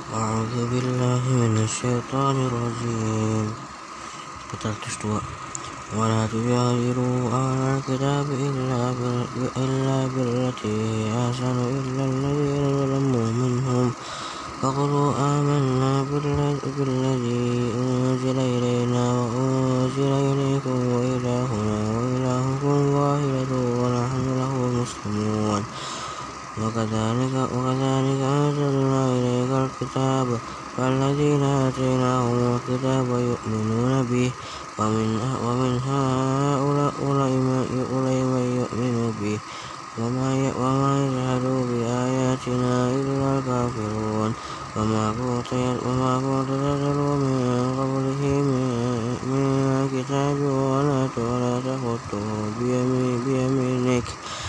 أعوذ بالله من الشيطان الرجيم. ولا تجادلوا أهل الكتاب إلا بالتي هي أحسن إلا الذين ظلموا منهم فقولوا آمنا بالذي أنزل إلينا وأنزل إليكم وإلهنا وإلهكم واحد ونحن له مسلمون. وكذلك أنزلنا إليك الكتاب فالذين آتيناهم الكتاب يؤمنون به ومن هؤلاء من يؤمن به وما يجحد بآياتنا إلا الكافرون. وما كنت تتلو من قبله من كتاب ولا تخطه بيمينك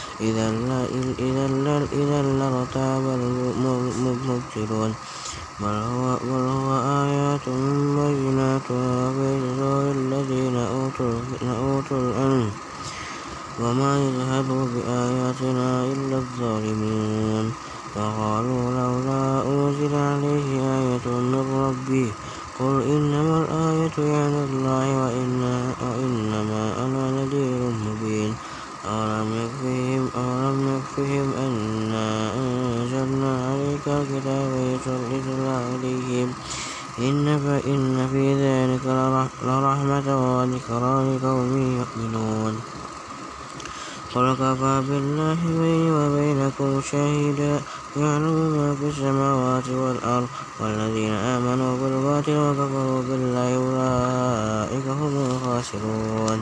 إذا لارتاب المبطلون. بل هو آيات بينات في صدور الذين أوتوا العلم وما يجحد بآياتنا إلا الظالمون. وقالوا لولا أنزل عليه آية من ربه قل إنما الآية عند الله وإنما أنا نذير مبين. أولم يكفهم أنا أنزلنا عليك الكتاب يتلى عليهم إن في ذلك لرحمة وذكرى لقوم يؤمنون. قل كفى بالله بيني وبينكم شهيدا يعلم ما في السماوات والأرض. والذين آمنوا بالباطل وكفروا بالله أولئك هم الخاسرون.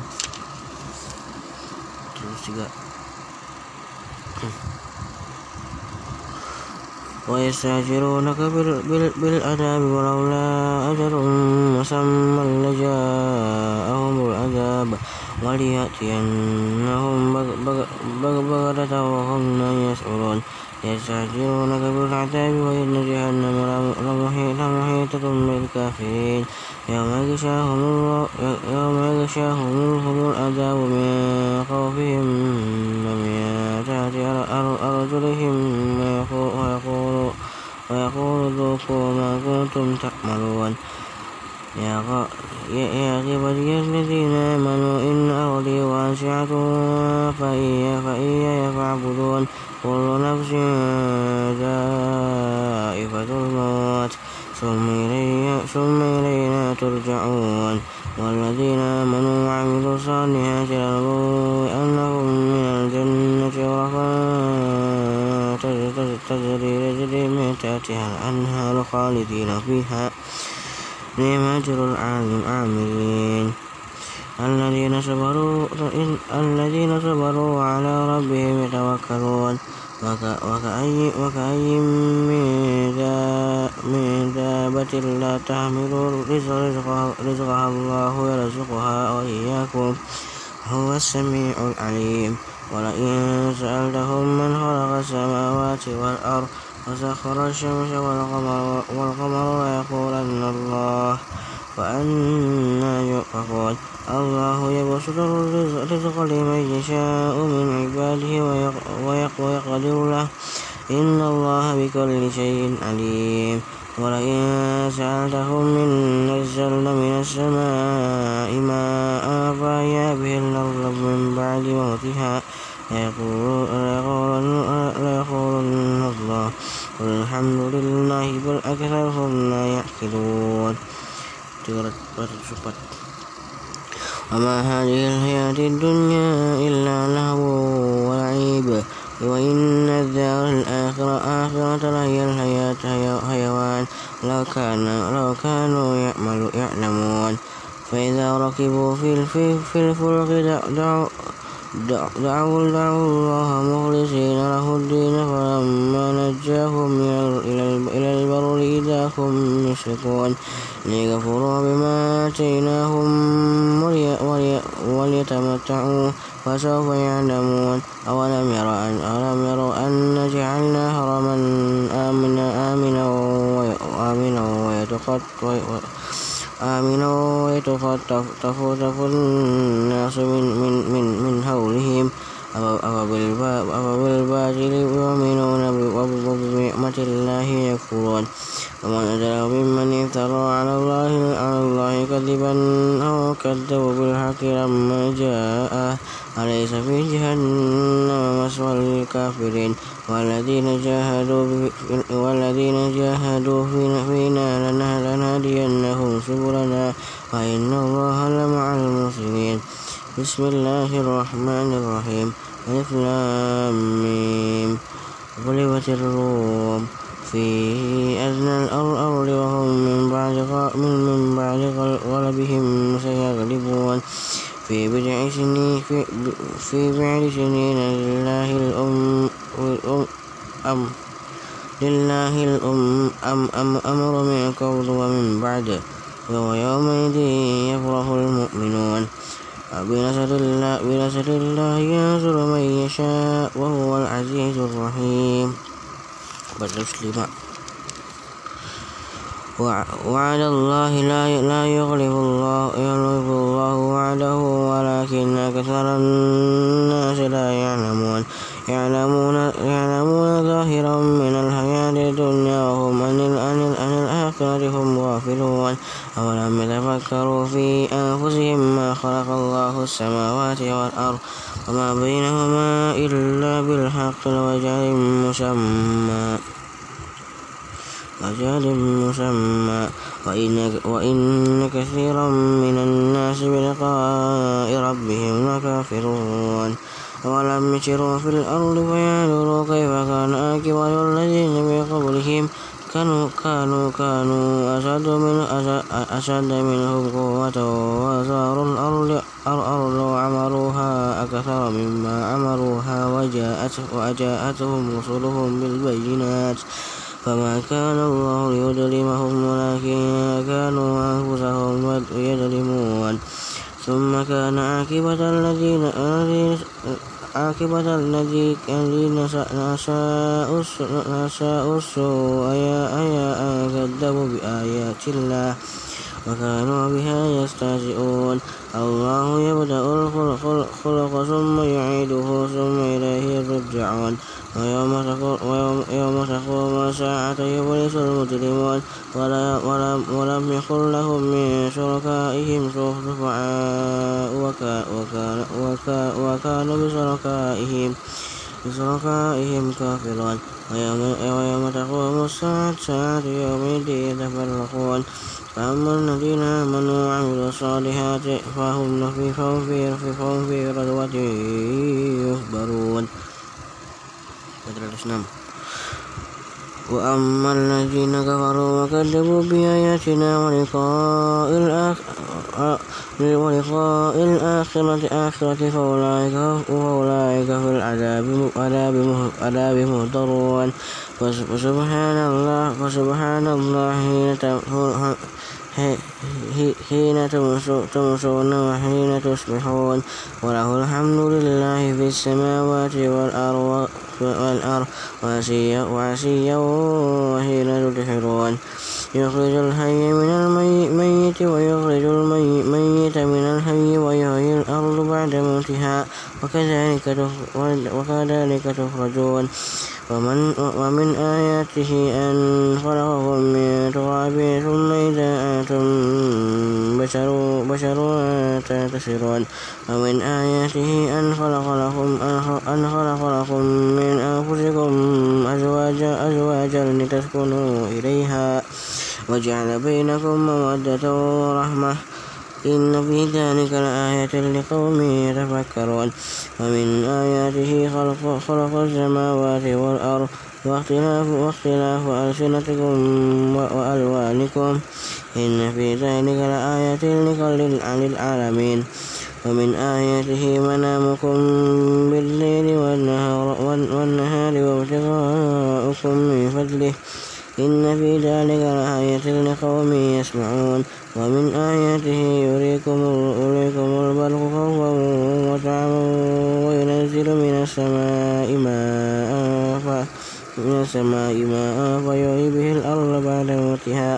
ويستعجلونك بالعذاب ولولا أجل مسمى لجاءهم العذاب وليأتينهم بغتة وهم لا يشعرون. يستعجلونك بالعذاب وإن جهنم لمحيطة بالكافرين. يوم يغشاهم العذاب من خوفهم ومن تحت أرجلهم ويقول ذوقوا ما كنتم تعملون. يا عبادي الذين آمنوا إن أرضي واسعة فإياي فاعبدون. كل نفس ذائقة الموت ثم إلينا ترجعون. والذين آمنوا وعملوا الصالحات لنبوئنهم من الجنة غرفا تجري من تحتها الأنهار خالدين فيها نعم أجر العاملين. الذين صبروا وعلى ربهم يتوكلون. وكأي من دابة لا تحمل رزقها الله يرزقها وإياكم هو السميع العليم. ولئن سألتهم من خلق السماوات والأرض وسخر الشمس والقمر ليقولن الله فأنى يؤفكون. الله يبسط الرزق لمن يشاء من عباده ويقدر له إن الله بكل شيء عليم. ولئن سألتهم من نزل من السماء ماء فأحيا به الأرض من بعد موتها ليقولن الله قل الحمد لله بل أكثرهم لا يعقلون. وما هذه الحياة الدنيا إلا لهو ولعب وإن الدار الآخرة لهي الحيوان لو كانوا يعلمون. فإذا ركبوا في الفلك دعوا الله مخلصين له الدين فلما نجاهم إلى البر إذا هم يشركون. ليكفروا بما آتيناهم وليتمتعوا فسوف يعلمون. أولم يروا أن جعلنا حرما آمنا ويتخطف الناس من حولهم أفبالباطل يؤمنون وبنعمة الله يكفرون ومن أظلم ممن افترى على الله كذبا أو كذب بالحق لما جاءه أليس في جهنم مثوى للكافرين والذين جاهدوا فينا لنهدينهم سبلنا وإن الله لمع المحسنين. بسم الله الرحمن الرحيم. ألف لام ميم. غلبت الروم في أدنى الأرض وهم من بعد غلبهم سيغلبون في بضع سنين لله الأمر من قبل ومن بعد ويومئذ يفرح المؤمنون. بنصر الله ينصر من يشاء وهو العزيز الرحيم. وعد الله لا يخلف الله وعده ولكن أكثر الناس لا يعلمون ظاهرا من الحياة الدنيا وهم عن الآخرة هم غافلون. أولم يتفكروا في أنفسهم ما خلق الله السماوات والأرض وما بينهما إلا بالحق وأجل مسمى وإن كثيرا من الناس بلقاء ربهم لكافرون. أولم يسيروا في الأرض فينظروا كيف كان عاقبة الذين من قبلهم كانوا أشد منهم قوة وآثاروا الأرض وعمروها أكثر مما عمروها وجاءتهم رسلهم بالبينات فما كان الله ليظلمهم ولكن كانوا أنفسهم يظلمون. ثم كان عاقبة الذين أساءوا السوء أن كذبوا بآيات الله وكانوا بها يستهزئون. الله يبدأ الخلق ثم يعيده ثم إليه يرجعون. ويوم تقوم الساعة يبلس المجرمون ولم يكن لهم من شركائهم شفعاء وكانوا بشركائهم كافرون. ويوم تقوم الساعة يومئذ يتفرقون فأما الذين آمنوا وعملوا الصالحات فهم في غدوة يحبرون. وأما الذين كفروا وكذبوا بآياتنا ولقاء الآخرة فأولئك في العذاب مهضرون. فسبحان الله حين تمسون وحين تصبحون وله الحمد لله في السماوات والأرض وعشيا وحين تظهرون. يخرج الحي من الميت ويخرج الميت من الحي ويحيي الأرض بعد موتها وكذلك تخرجون. ومن آياته أن خلقكم من تراب ثم إذا أنتم بشر تنتشرون. ومن آياته أن خلق لكم من أنفسكم أزواجا لتسكنوا إليها وجعل بينكم مودة ورحمة إن في ذلك لآية لقوم يتفكرون. ومن آياته خلق السماوات والأرض واختلاف ألسنتكم وألوانكم إن في ذلك لآية للعالمين. ومن آياته منامكم بالليل والنهار وابتغاؤكم من فضله إن في ذلك لآية لقوم يسمعون. ومن آياته يريكم البرق خوفا وطمعا وينزل من السماء ماء فيحيي به الأرض بعد موتها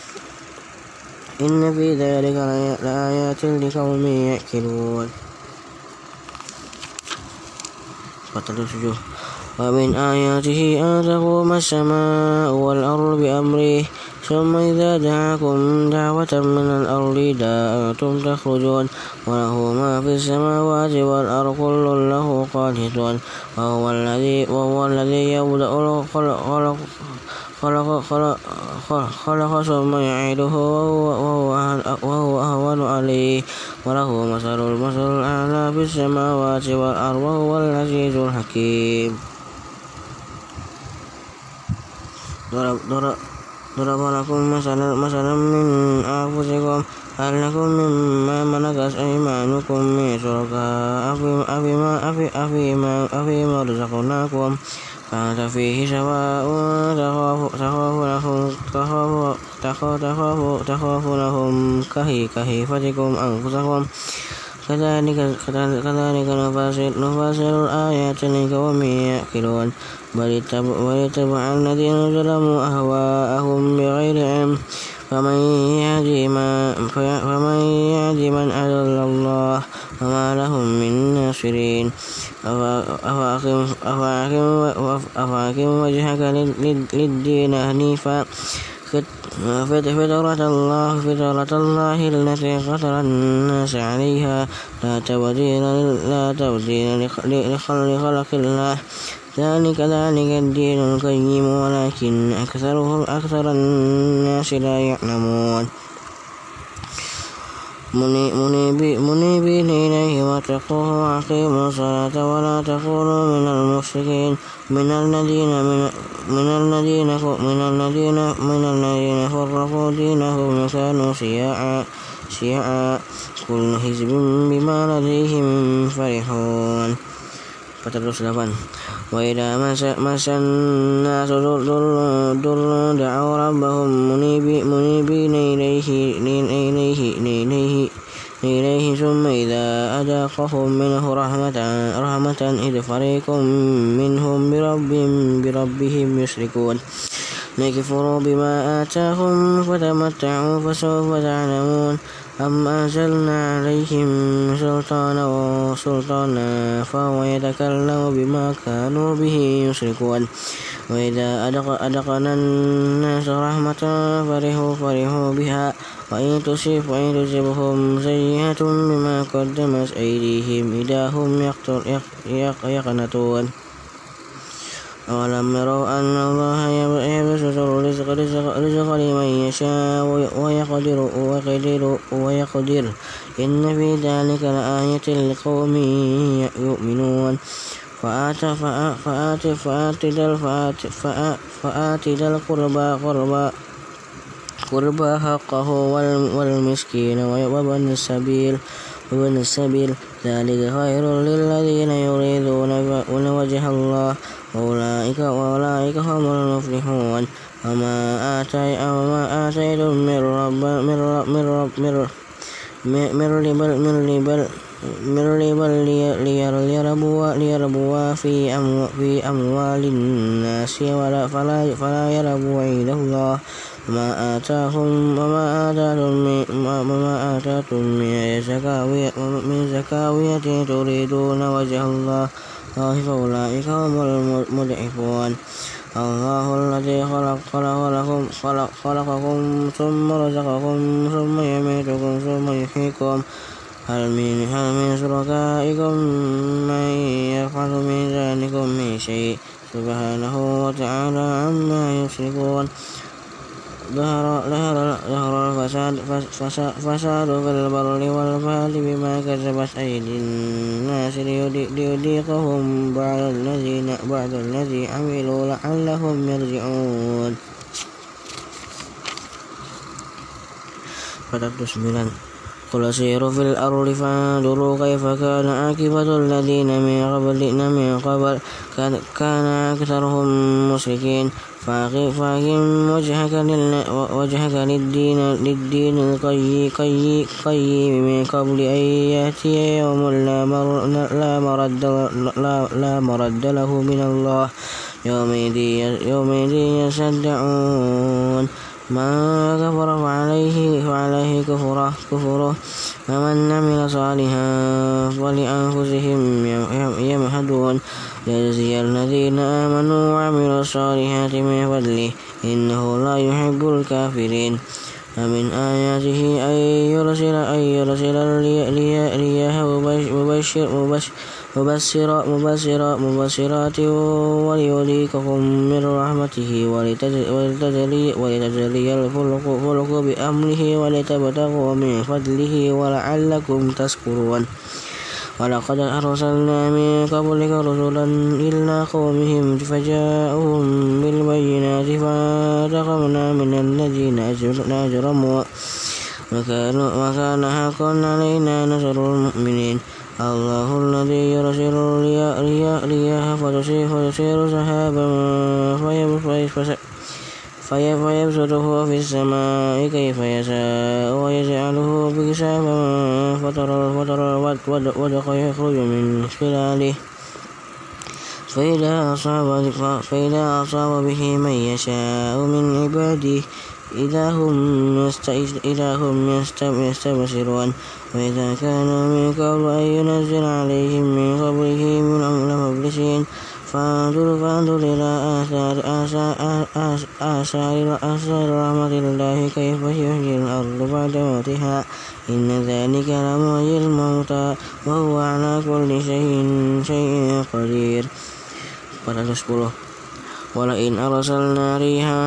إن في ذلك لآيات لقوم يأكلون. ومن آياته أن تقوم السماء والأرض بأمره ثم إذا دعاكم دعوة من الأرض إذا أنتم تخرجون وله ما في السماوات والأرض كل له قانتون وهو الذي يبدأ خلق ثم يعيده وهو أهون عليه وله مثل الأعلى في السماوات والأرض وهو العزيز الحكيم. ضرب لكم مثلا من أنفسكم هل لكم مما ملكت أيمانكم من شركاء أفيما رزقناكم فيه سواء تخافونهم كخيفتكم أنفسكم كذلك نفصل الآيات لقوم يعقلون بل اتبع الذين ظلموا أهواءهم بغير علم فمن يهدي من أضل الله وما لهم من ناصرين. أفأقم وجهك للدين حنيفا فطرة الله التي فطر الناس عليها لا تبديل لخلق الله ذلك الدين القيم ولكن أكثر الناس لا يعلمون. منيبين إليه واتقوه وأقيموا الصلاة ولا تكونوا من المشركين من الذين فرقوا دينهم وكانوا شيعا كل حزب بما لديهم فرحون. 408 وإذا مس الناس ضر دعوا ربهم منيبين إليه ثم إذا أذاقهم منه رحمة إذ فريق منهم بربهم يشركون ليكفروا بما آتاهم فتمتعوا فسوف تعلمون أم أنزلنا عليهم سلطانا فهو يتكلم بما كانوا به يشركون وإذا أذقنا الناس رحمة فرحوا بها وإن تصبهم سيئة بما قدمت أيديهم إذا هم يقنطون أولم يروا أن الله يبسط الرزق لمن يشاء ويقدر إن في ذلك لآية لقوم يؤمنون فآت ذا القربى حقه والمسكين وابن السبيل ذلك خير للذين يريدون وجه الله وأولئك هم المفلحون. وما آتيتم من ربا ليربوا في أموال الناس فلا يربوا عند الله وما آتاتم من زكاوية تريدون وجه الله فأولئك هم المضعفون. الله الذي خلقكم ثم رزقكم ثم يميتكم ثم يحييكم هل من شركائكم من يفعل من ذلك من شيء سبحانه وتعالى عما يشركون. ظهر الفساد في البر والبحر بما كسبت أيدي الناس ليذيقهم بعد الذي عملوا لعلهم يرجعون. 409 قل سيروا في الأرض فانظروا كيف كان عاقبة الذين من قبل كان أكثرهم مشركين فأقم وجهك للدين القيم من قبل أن يأتي يوم لا مرد له من الله يومئذ يصدعون من كفر فعليه كفره ومن عمل صالحا فلأنفسهم يمهدون ليجزي الذين آمنوا وعملوا الصالحات من فضله إنه لا يحب الكافرين. ومن آياته أن يرسل الرياح مبشرات وليذيقكم من رحمته ولتجري الفلك بأمره ولتبتغوا من فضله ولعلكم تشكرون. ولقد أرسلنا من قبلك رسلا إلى قومهم فجاءهم بالبينات فانتقمنا من الذين أجرموا وكان حقا علينا نصر المؤمنين. الله الذي يرسل الرياح فتصير سحابا فيبسطه في السماء كيف يشاء ويجعله كسافا فترى الودق يخرج من خلاله فإذا أصاب به من يشاء من عباده إذا هم يستبشرون. وإذا كانوا من قبل أن ينزل عليهم من قبله من لمبلسين. فانظر إلى آثار رحمة الله كيف يحيي الأرض بعد موتها إن ذلك لمحيي الموتى وهو على كل شيء قدير. 410. ولئن أرسلنا ريحا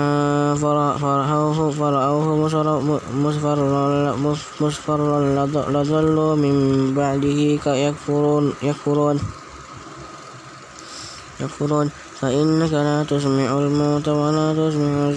فرأوه مصفرا لظلوا من بعده يكفرون فإنك لا تسمع الموت ولا تسمع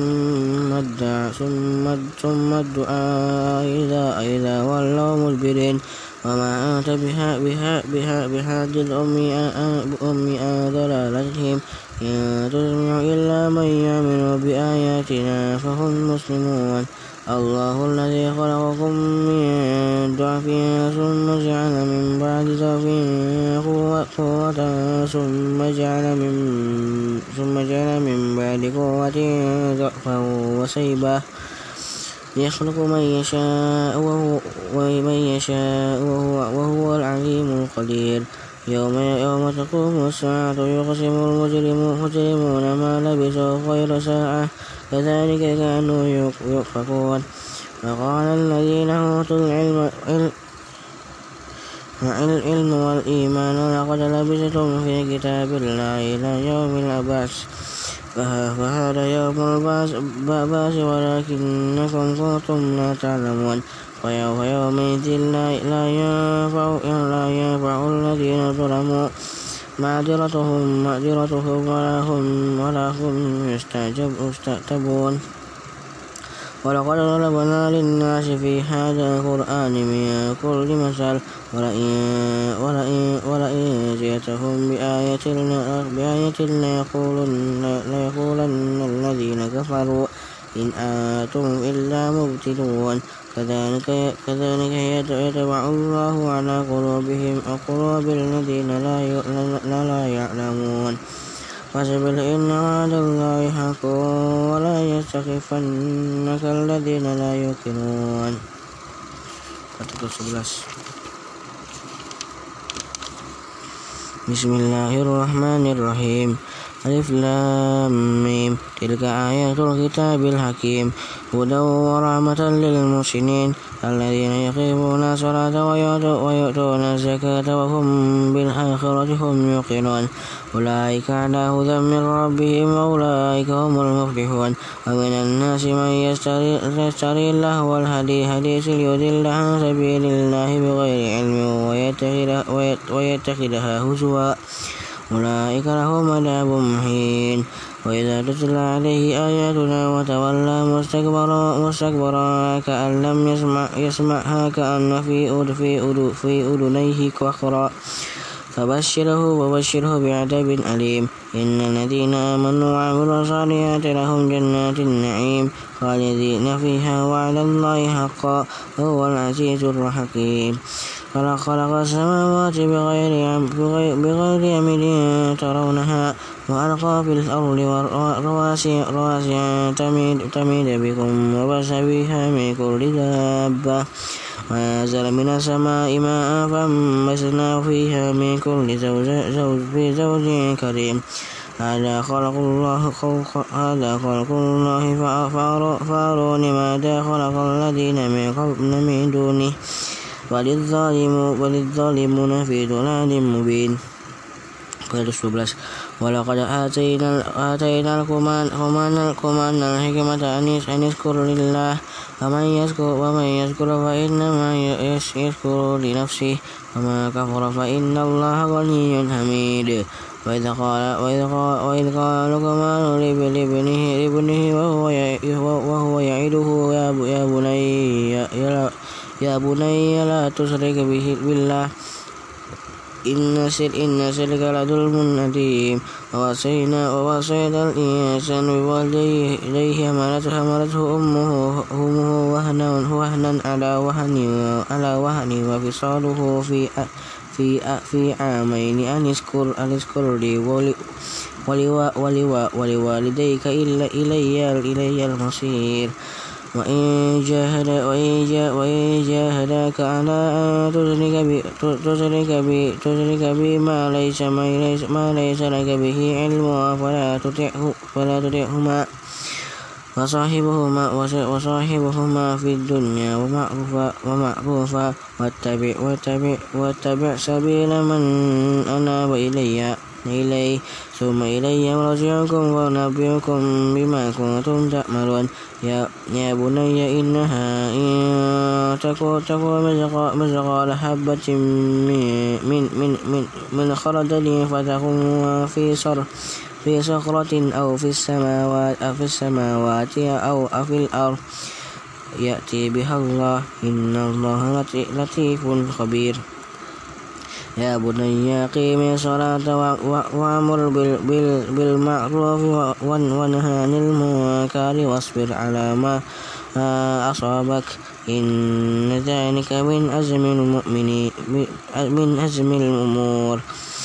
ثم الدعاء إذا ولوا مدبرين. وما أنت بهاد الأمي عن ضلالتهم إن تسمع إلا من يؤمن بآياتنا فهم مسلمون. الله الذي خلقكم من ضعف ثم جعل من بعد ضعف قوة ثم جعل من بعد قوة ضعفا وشيبة يخلق من يشاء وهو العليم القدير. يوم تقوم الساعة يقسم المجرمون ما لبثوا غير ساعة كذلك كانوا يؤفكون. وقال الذين أوتوا العلم والإيمان لقد لبثتم في كتاب الله إلى يوم البعث فهذا يوم البعث ولكنكم كنتم لا تعلمون. ويومئذ لا ينفع الذين ظلموا معذرتهم ولا هم يستعتبون. ولقد ضربنا للناس في هذا القرآن من كل مثل ولئن جئتهم بآية ليقولن الذين كفروا إن أنتم إلا مبتلون. كذلك يطبع الله على قلوب الذين لا يعلمون. فاصبر إن وعد الله حق ولا يستخفنك الذين لا يوقنون. 411. Bismillahirrahmanirrahim. Alif Lam Mim. Tilka ayatul kitabil hakim. Hudan wa rahmatan lil muhsinin alladzina yuqimuna sholata wa yu'tuna zakata wa hum bil akhirati hum yuqinun. Ulaika ala hudan min rabbihim wa ulaika humul muflihun. Wa minan nasi man yashtari lahwal haditsi liyudilla an sabilillahi bighairi ilmin wa yattakhidaha huzwa. أولئك لهم عذاب مهين. وإذا تتلى عليه آياتنا وتولى مستكبرا كأن لم يسمعها كأن في أذنيه وقرا فبشره بعذاب أليم. إن الذين آمنوا وعملوا الصالحات لهم جنات النعيم خالدين فيها وعد الله حقا وهو العزيز الحكيم. خلق السماوات بغير عمد ترونها وألقى في الأرض رواسي أن تميد بكم وبث فيها من كل دابة وأنزل من السماء ماء فأنبتنا فيها من كل زوج كريم هذا خلق الله فأروني ماذا خلق الذين من دونه وللظالمون في ضلال مبين. 12. ولقد آتينا لقمان الحكمة أن يشكر لله ومن يشكر فإنما يشكر لنفسه وما كفر فإن الله غني حميد. وإذ قال لقمان لابنه وهو يعظه يا بني لا تشرك بالله إن الشرك لظلم عظيم. ووصينا الإنسان بوالديه حملته أمه وهنا على وهن وفصاله في عامين أن اشكر لي ولوالديك إلي المصير. وإن جاهداك على أن تشرك بي ما ليس لك به علم فلا تطعهما وصاحبهما في الدنيا ومعروفا واتبع سبيل من أناب إلي ثم إلي مرجعكم وأنبئكم بما كنتم تعملون. يا بني إنها إن تكن مثقال حبة من خردل فتكن في صخرة أو في السماوات أو في الأرض يأتي بها الله إن الله لطيف خبير. يا بني أقم الصلاة وأمر بالمعروف وانه عن المنكر واصبر على ما أصابك إن ذلك من أزم الأمور.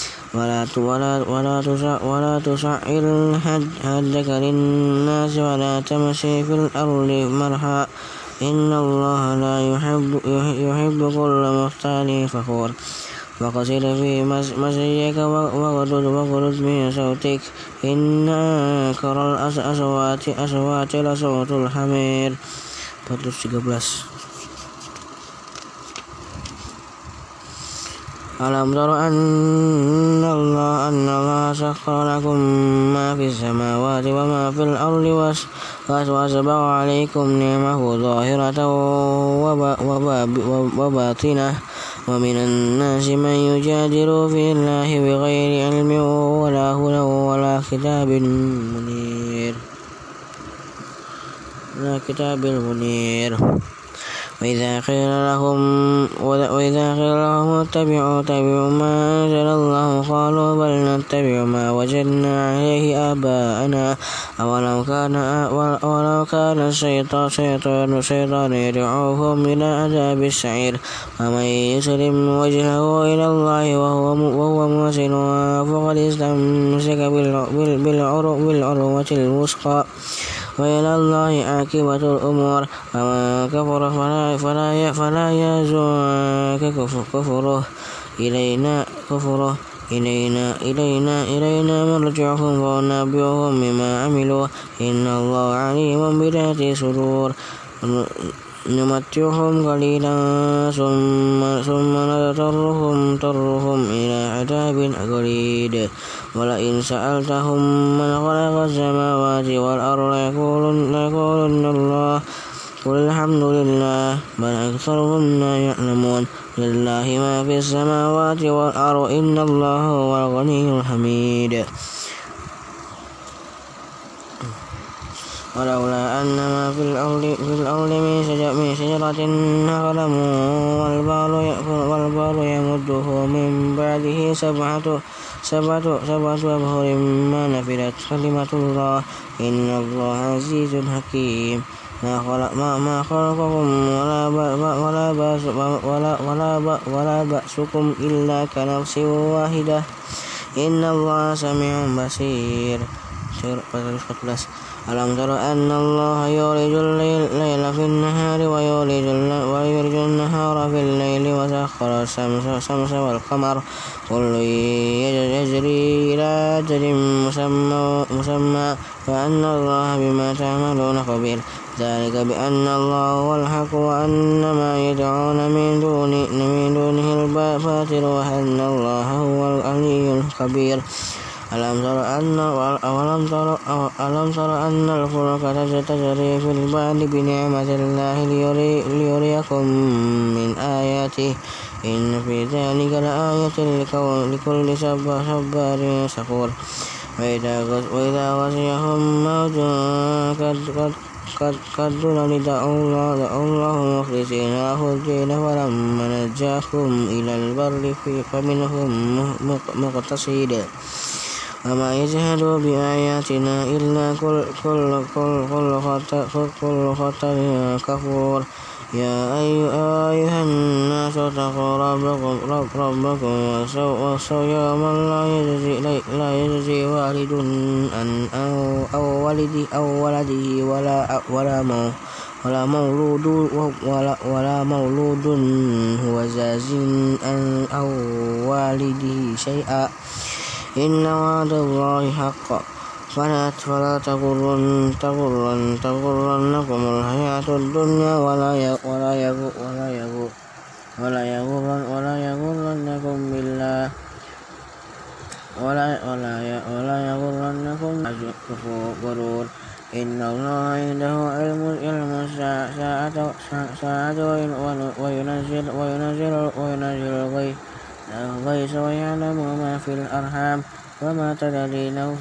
ولا تسعر خدك للناس ولا تمشي في الأرض مرحا إن الله لا يحب كل مختال فخور. وقصد في مشيك وغضض من صوتك إن أنكر الأصوات لصوت الحمير. 13. ألم تر أن الله سخر لكم ما في السماوات وما في الأرض وأسبغ عليكم نعمه ظاهرة وباطنة ومن الناس من يجادل في الله بغير علم ولا هدى ولا كتاب منير. وإذا قيل لهم اتبعوا ما أنزل الله قالوا بل نتبع ما وجدنا عليه آباءنا أولو كان الشيطان يدعوهم إلى عذاب السعير. ومن يسلم وجهه إلى الله وهو محسن فقد استمسك بالعروة الوثقى وإلى الله عاقبة الأمور. ومن كفر فلا يحزنك كفره إلينا مرجعهم فننبئهم بما عملوا إن الله عليم بذات الصدور. نمتعهم قليلا ثم نضطرهم إلى عذاب غليظ. ولئن سألتهم من خلق السماوات والأرض ليقولن الله قل الحمد لله بل أكثرهم لا يعلمون. لله ما في السماوات والأرض إن الله هو الغني الحميد. ولولا أن ما في الأرض من شجرة أقلام والبحر يمده من بعده سبعة أبحر ما نفدت كلمة الله إن الله عزيز حكيم. ما خلقكم ولا بأسكم إلا كنفس واحدة إن الله سميع بصير. 14. ألم تر أن الله يولج الليل في النهار ويولج النهار في الليل وسخر الشمس والقمر كل يجري إلى أجل مسمى وأن الله بما تعملون خبير. ذلك بأن الله هو الحق وأن ما يدعون من دونه الباطل وأن الله هو العلي الكبير. ألم تر أن الفلك تجري في البحر بنعمة الله ليريكم من آياته إن في ذلك لآية لكل صبار شكور. وإذا غشيهم موج كالظلل دعوا الله مخلصين له الدين فلما نجاهم إلى البر فمنهم مقتصد وما يجحد بآياتنا إلا كل خطر كفور. يا أيها الناس اتقوا ربكم واخشوا يوما لا يجزي والد أو ولده ولا مولود هو جاز أو والده شيئا إن وعد الله حق فلا تغرنكم الحياة الدنيا ولا يغرنكم بالله ولا يغرنكم غرور. إن الله عنده علم الساعة وينزل الغيث ويعلم ما في الأرحام وما تدري نفس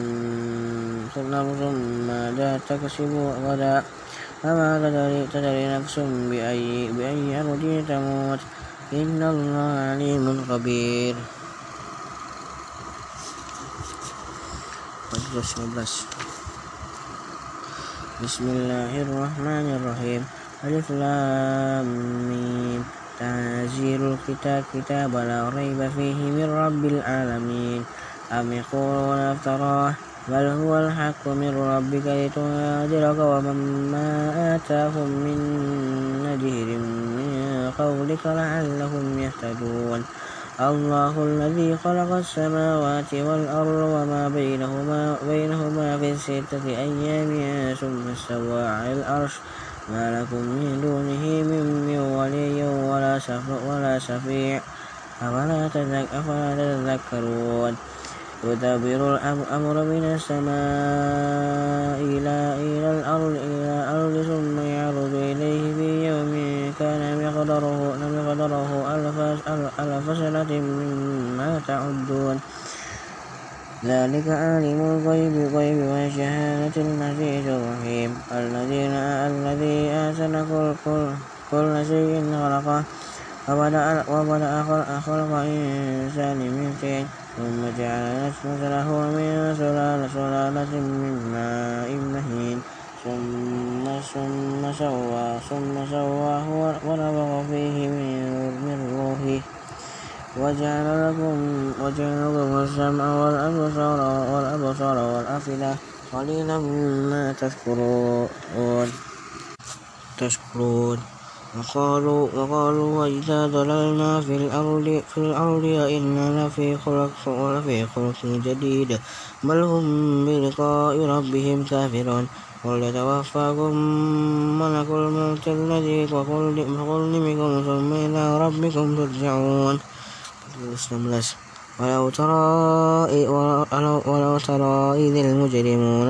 ماذا تكسب غدا وما تدري نفس بأي أرض تموت إن الله عليم خبير. 15. بسم الله الرحمن الرحيم. ألف لام ميم. تنزيل الكتاب لا ريب فيه من رب العالمين. أم يقولون افتراه بل هو الحق من ربك لتنذر قوما ما آتاهم من نذير من قبلك لعلهم يهتدون. الله الذي خلق السماوات والأرض وما بينهما في 6 أيام ثم استوى على العرش ما لكم من دونه من ولي ولا شفيع أفلا تذكرون. يدبر الأمر من السماء إلى الأرض ثم يعرض إليه في يوم كان مقداره ألف سنة مما تعدون. ذلك عالم الغيب والشهادة العزيز الرحيم. الذي أحسن كل شيء خلقه وبدأ خلق الإنسان من طين ثم جعل نسله من سلالة من ماء مهين ثم سواه ونفخ فيه من روحه وجعل لكم السمع والأبصار والأفئدة قليلا ما تشكرون. وقالوا وإذا ضللنا في الأرض أئنا لفي خلق جديد بل هم بلقاء ربهم كافرون. قل يتوفاكم ملك الموت الذي وكل بكم ثم إلى ربكم ترجعون. 19. ولو ترى إذ المجرمون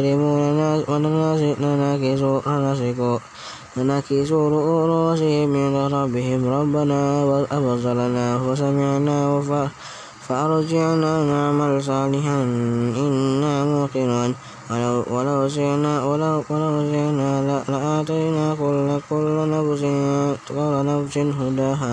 ناكسوا رؤوسهم عند ربهم ربنا أبصرنا وسمعنا فأرجعنا نعمل صالحا إنا موقنون. ولو شئنا لآتينا كل نفس هداها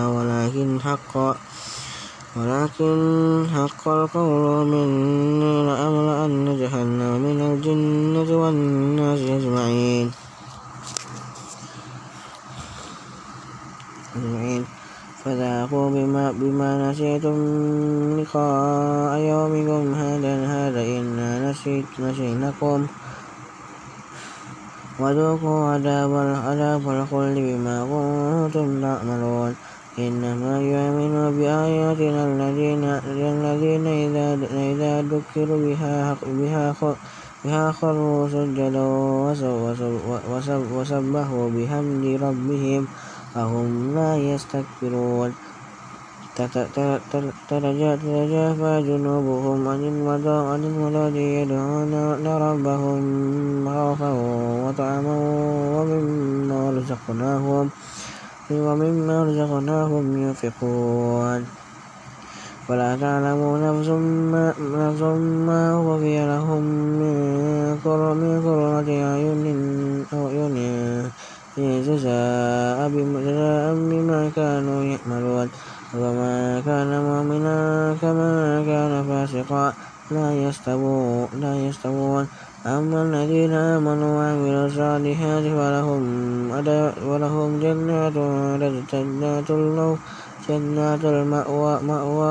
ولكن حق القول مني لأملأن جهنم من الجنة والناس أجمعين. فذاقوا بما نسيتم لقاء يومكم هذا إنا نسيناكم وذوقوا عذاب الخلد بما كنتم تعملون إنما يؤمن بآياتنا الذين إذا ذكروا بها خروا سجدا وسبحوا بحمد ربهم وهم لا يستكبرون تتجافى جنوبهم عن المضاجع يدعون ربهم خوفا وطمعا ومما رزقناهم ينفقون ولا تعلم نفس ما أخفي لهم من قرة أعين جزاء بما كانوا يعملون وما كان مؤمنا كما كان فاسقا لا يستوون أما الذين آمنوا وعملوا الصالحات ولهم جنات المأوى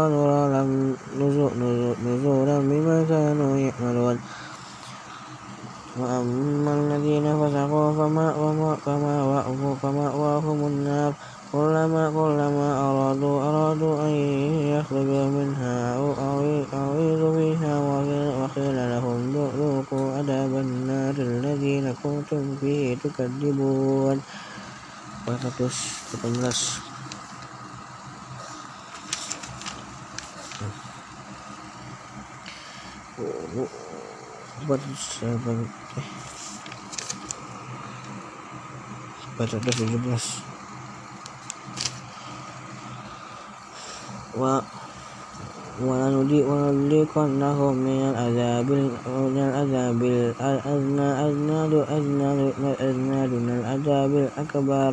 نزولا بما كانوا يعملون وأما الذين فسقوا فمأواهم النار كلما أرادوا أن يخرجوا منها أعيدوا فيها وقيل لهم ذوقوا عذاب النار الذين كنتم به تكذبون. 418 ولنذيقنهم من العذاب الأدنى دون العذاب الأكبر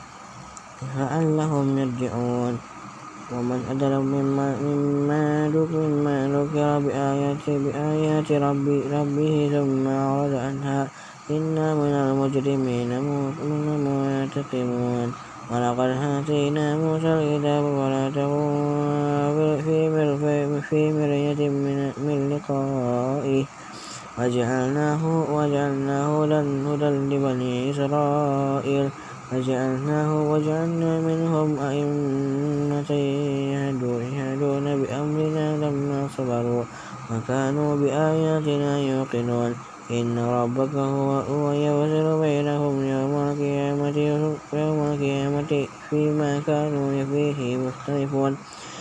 لعلهم يرجعون. ومن أظلم مما ذكر بآيات ربه ثم أعرض عنها إنا من المجرمين منتقمون. ولقد آتينا موسى الكتاب فلا تكن في مرية من لقائه وجعلناه هدى لبني إسرائيل وجعلنا منهم أئمة يهدون بأمرنا لما صبروا وكانوا بآياتنا يوقنون. إن ربك هو يفصل بينهم يوم القيامة فيما كانوا فيه مختلفون.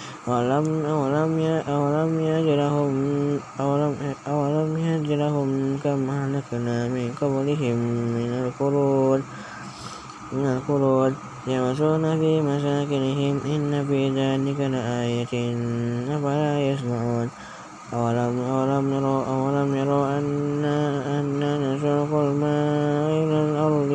أولم يجرهم كم أهلكنا من قبلهم من القرون يمشون في مساكنهم إن في ذلك لآية أفلا يسمعون. أولم يروا أنا نسوق الماء إلى الأرض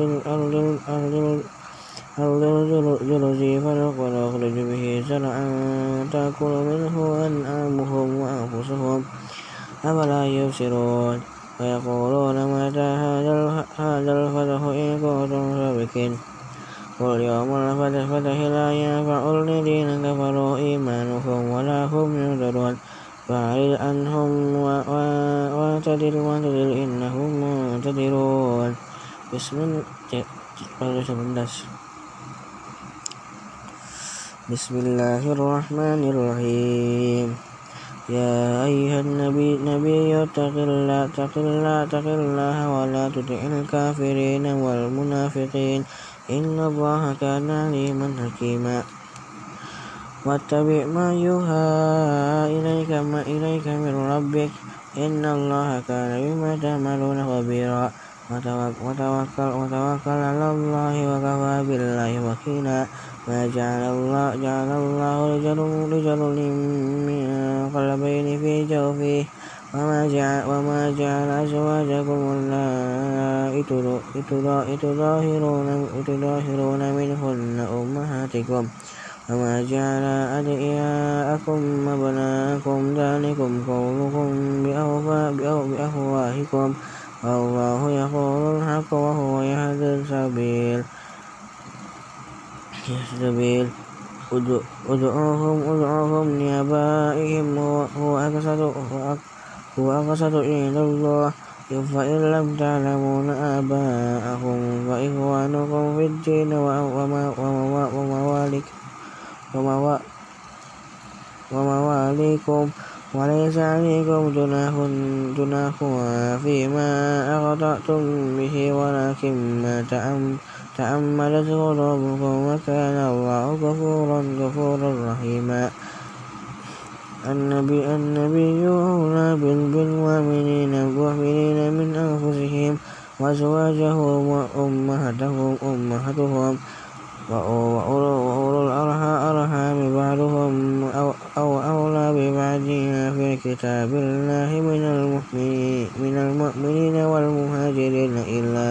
الجرز فنخرج به زرعا تأكل منه أنعامهم وأنفسهم أفلا يبصرون. ويقولون متى هذا الفتح إن كنتم صادقين. قل يوم الفتح لا ينفع الذين كفروا إيمانهم ولا هم ينذرون. فأعرض عنهم واعتذر إنهم منتظرون. بسم الله الرحمن الرحيم. يا أيها النبي اتق الله ولا تطع الكافرين والمنافقين إن الله كان عليما حكيما. واتبع ما يوحى إليك من ربك إن الله كان بما تعملون خبيرا. وتوكل على الله وكفى بالله وكيلا. ما جعل الله رجل من قلبين في جوفه وما جعل أزواجكم اللائي تظاهرون منهن أمهاتكم وما جعل أدعياءكم أبناءكم ذلكم قولكم بأفواهكم والله يقول الحق وهو يهدي السبيل. ادعوهم لآبائهم هو أقسط عند الله فإن لم تعلمون آباءهم فإخوانكم في الدين ومواليكم وليس عليكم جناح فيما أخطأتم به ولكن ما تعمدت قلوبكم وكان الله غفورا رحيما. النبي أولى بالمؤمنين من أنفسهم وأزواجه أمهاتهم وأولو الأرحام بعضهم أولى ببعض في كتاب الله من المؤمنين والمهاجرين إلا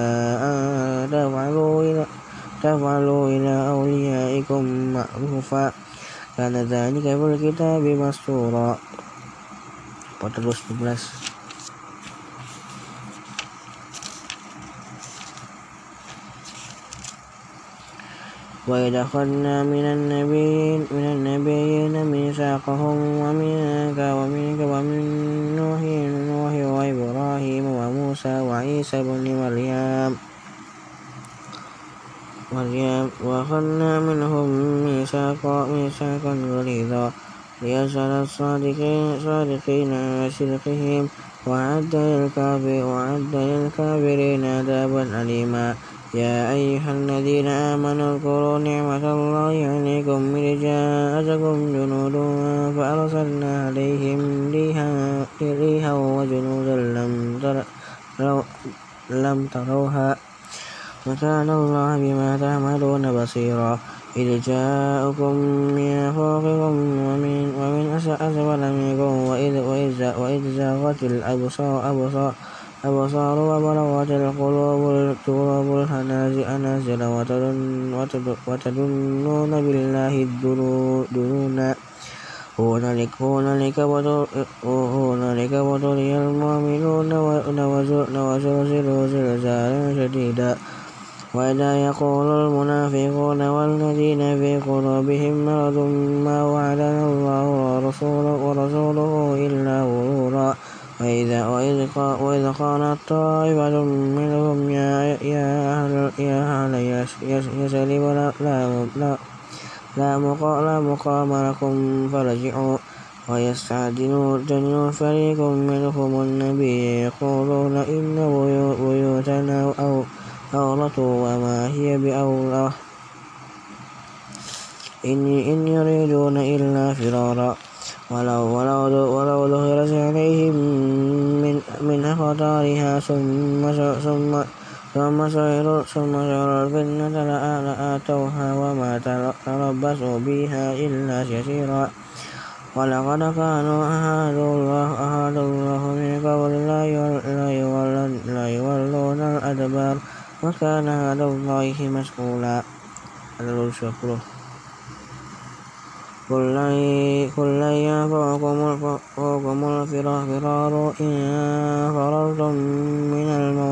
أن تفعلوا إلى أوليائكم معروفا كان ذلك في الكتاب مسطورا. 14-11. وإذ أخذنا من النبيين ميثاقهم ومنك ومن نوح وإبراهيم وموسى وعيسى بن مريم وأخذنا منهم ميثاقا غليظا ليسأل الصادقين عن صدقهم وأعد للكافرين عذابا أليما. يا أيها الذين آمنوا اذكروا نعمة الله عليكم إذ جاءتكم جنود فأرسلنا عليهم ريحا وجنودا لم تروها وكان الله بما تعملون بصيرا. إذ جاءكم من فوقكم ومن أسفل منكم وإذ زاغت الأبصار وبلغت القلوب الحناجر وتظنون بالله الظنونا. هنالك ابتلي المؤمنون وزلزلوا زلزالا شديدا. وإذا يقول المنافقون والذين في قلوبهم مرض ما وعدنا الله ورسوله إلا غرورا. وإذ قالت طائفة منهم يا أهل يثرب لا مقام لكم فارجعوا ويستأذن فريق منهم النبي يقولون إن بيوتنا عورة وما هي بأولى إن يريدون إلا فرارا. ولو ظهرت عليهم من أخطارها ثم سعروا الفتنة لآتوها وما تربصوا بها إلا يسيرا. ولقد كانوا أحد الله من قبل لا يولون الأدبار وكان عهد الله مسؤولا. قل لن ينفعكم الفرار إن فررتم من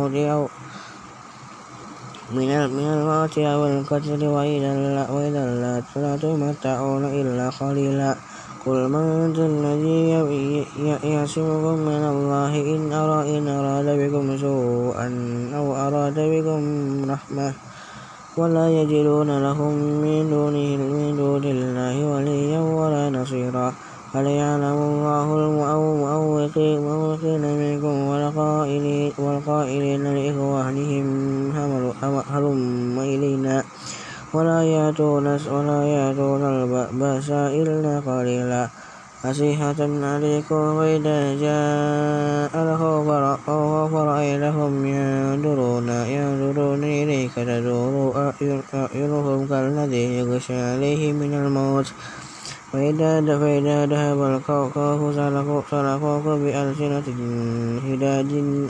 الموت أو القتل وإذا لا تمتعون إلا قليلا. قل من ذا الذي يعصمكم من الله إن أراد بكم سوءا أو أراد بكم رحمة ولا يجدون لهم من دون الله وليا ولا نصيرا. فليعلم الله المعوقين منكم والقائلين لإخوانهم هلم إلينا ولا يأتون البأس إلا قليلا. أصيحة عليكم وإذا جاء الخوف رأيتهم ينظرون إليك تدور أعينهم كالذي يغشى عليه من الموت فإذا ذهب الخوف سلقوك بألسنة حداد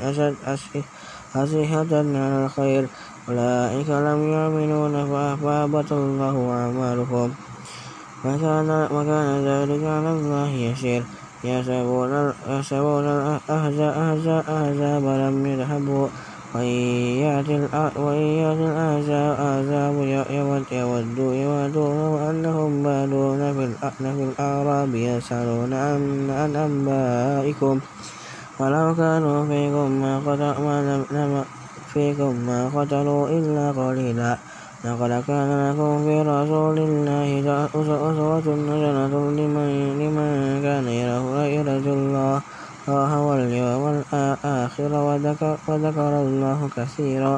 أصيحة على الخير أولئك لم يؤمنون فأحبط الله أعمالهم وكان ذلك على الله يسير. يحسبون الأحزاب لم يذهبوا وإن يأتي العذاب يودوا لو أنهم بادون في الأعراب يسألون عن أنبائكم ولو كانوا فيكم ما قتلوا إلا قليلا لقد كان لكم في رسول الله أسوة حسنة لمن كان يرجو الله واليوم الآخر وذكر الله كثيرا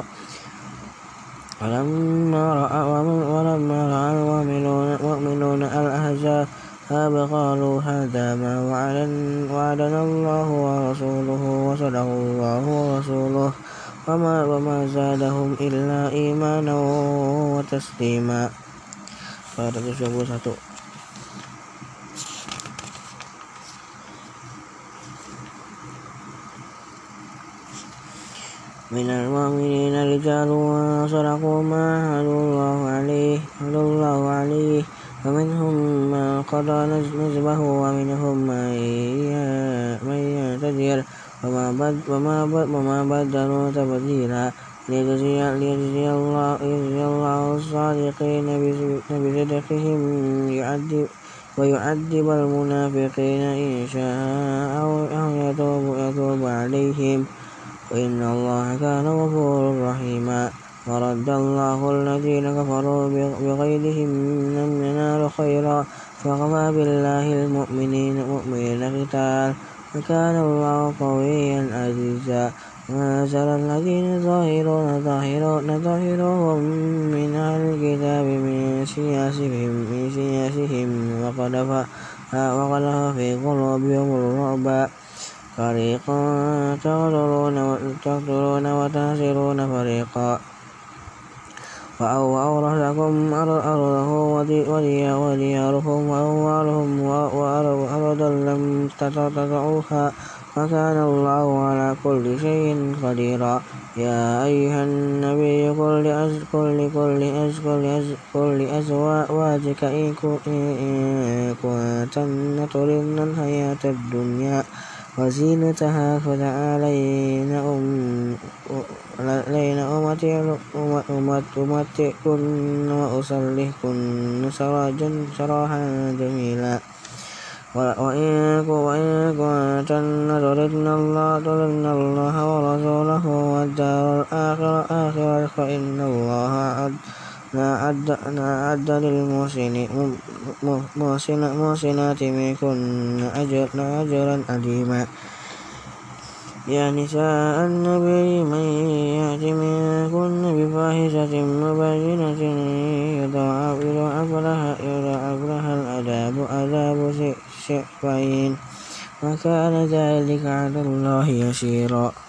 ولما رأى المؤمنون الأحزاب قالوا هذا ما وعدنا الله ورسوله وصدق الله ورسوله وما زادهم إلا إيمانا وتسليما. من المؤمنين رجال صدقوا ما عاهدوا الله عليه فمنهم من قضى نحبه ومنهم من ينتظر وما بدلوا تبديلا ليجزي الله الصادقين بصدقهم ويعذب المنافقين إن شاء أو يتوب عليهم وإن الله كان غفورا رحيما. ورد الله الذين كفروا بغيظهم لم ينالوا خيرا فكفى بالله المؤمنين قتال وكان الله قويا عزيزا. وأنزل الذين ظاهرهم من أهل الكتاب من سياسهم وقذف في قلوبهم الرعب فريقا تقتلون وتأسرون فريقا وأورثكم أرضه وديارهم وأموالهم وأرضا لم تطئوها وكان الله على كل شيء قديرا. يا أيها النبي قل لأزواجك إن كنتن تردن الحياة الدنيا وزينتها فتعالين أمتعكن وأسرحكن سراحا جميلا. وإن كنتن تردن الله ورسوله والدار الآخرة فإن الله أعد للمحسنات منكن أجرا عظيما. يا نساء النبي من يأت منكن بفاحشة مبينة يضاعف لها عذاب 70 وكان ذلك على الله يسيرا.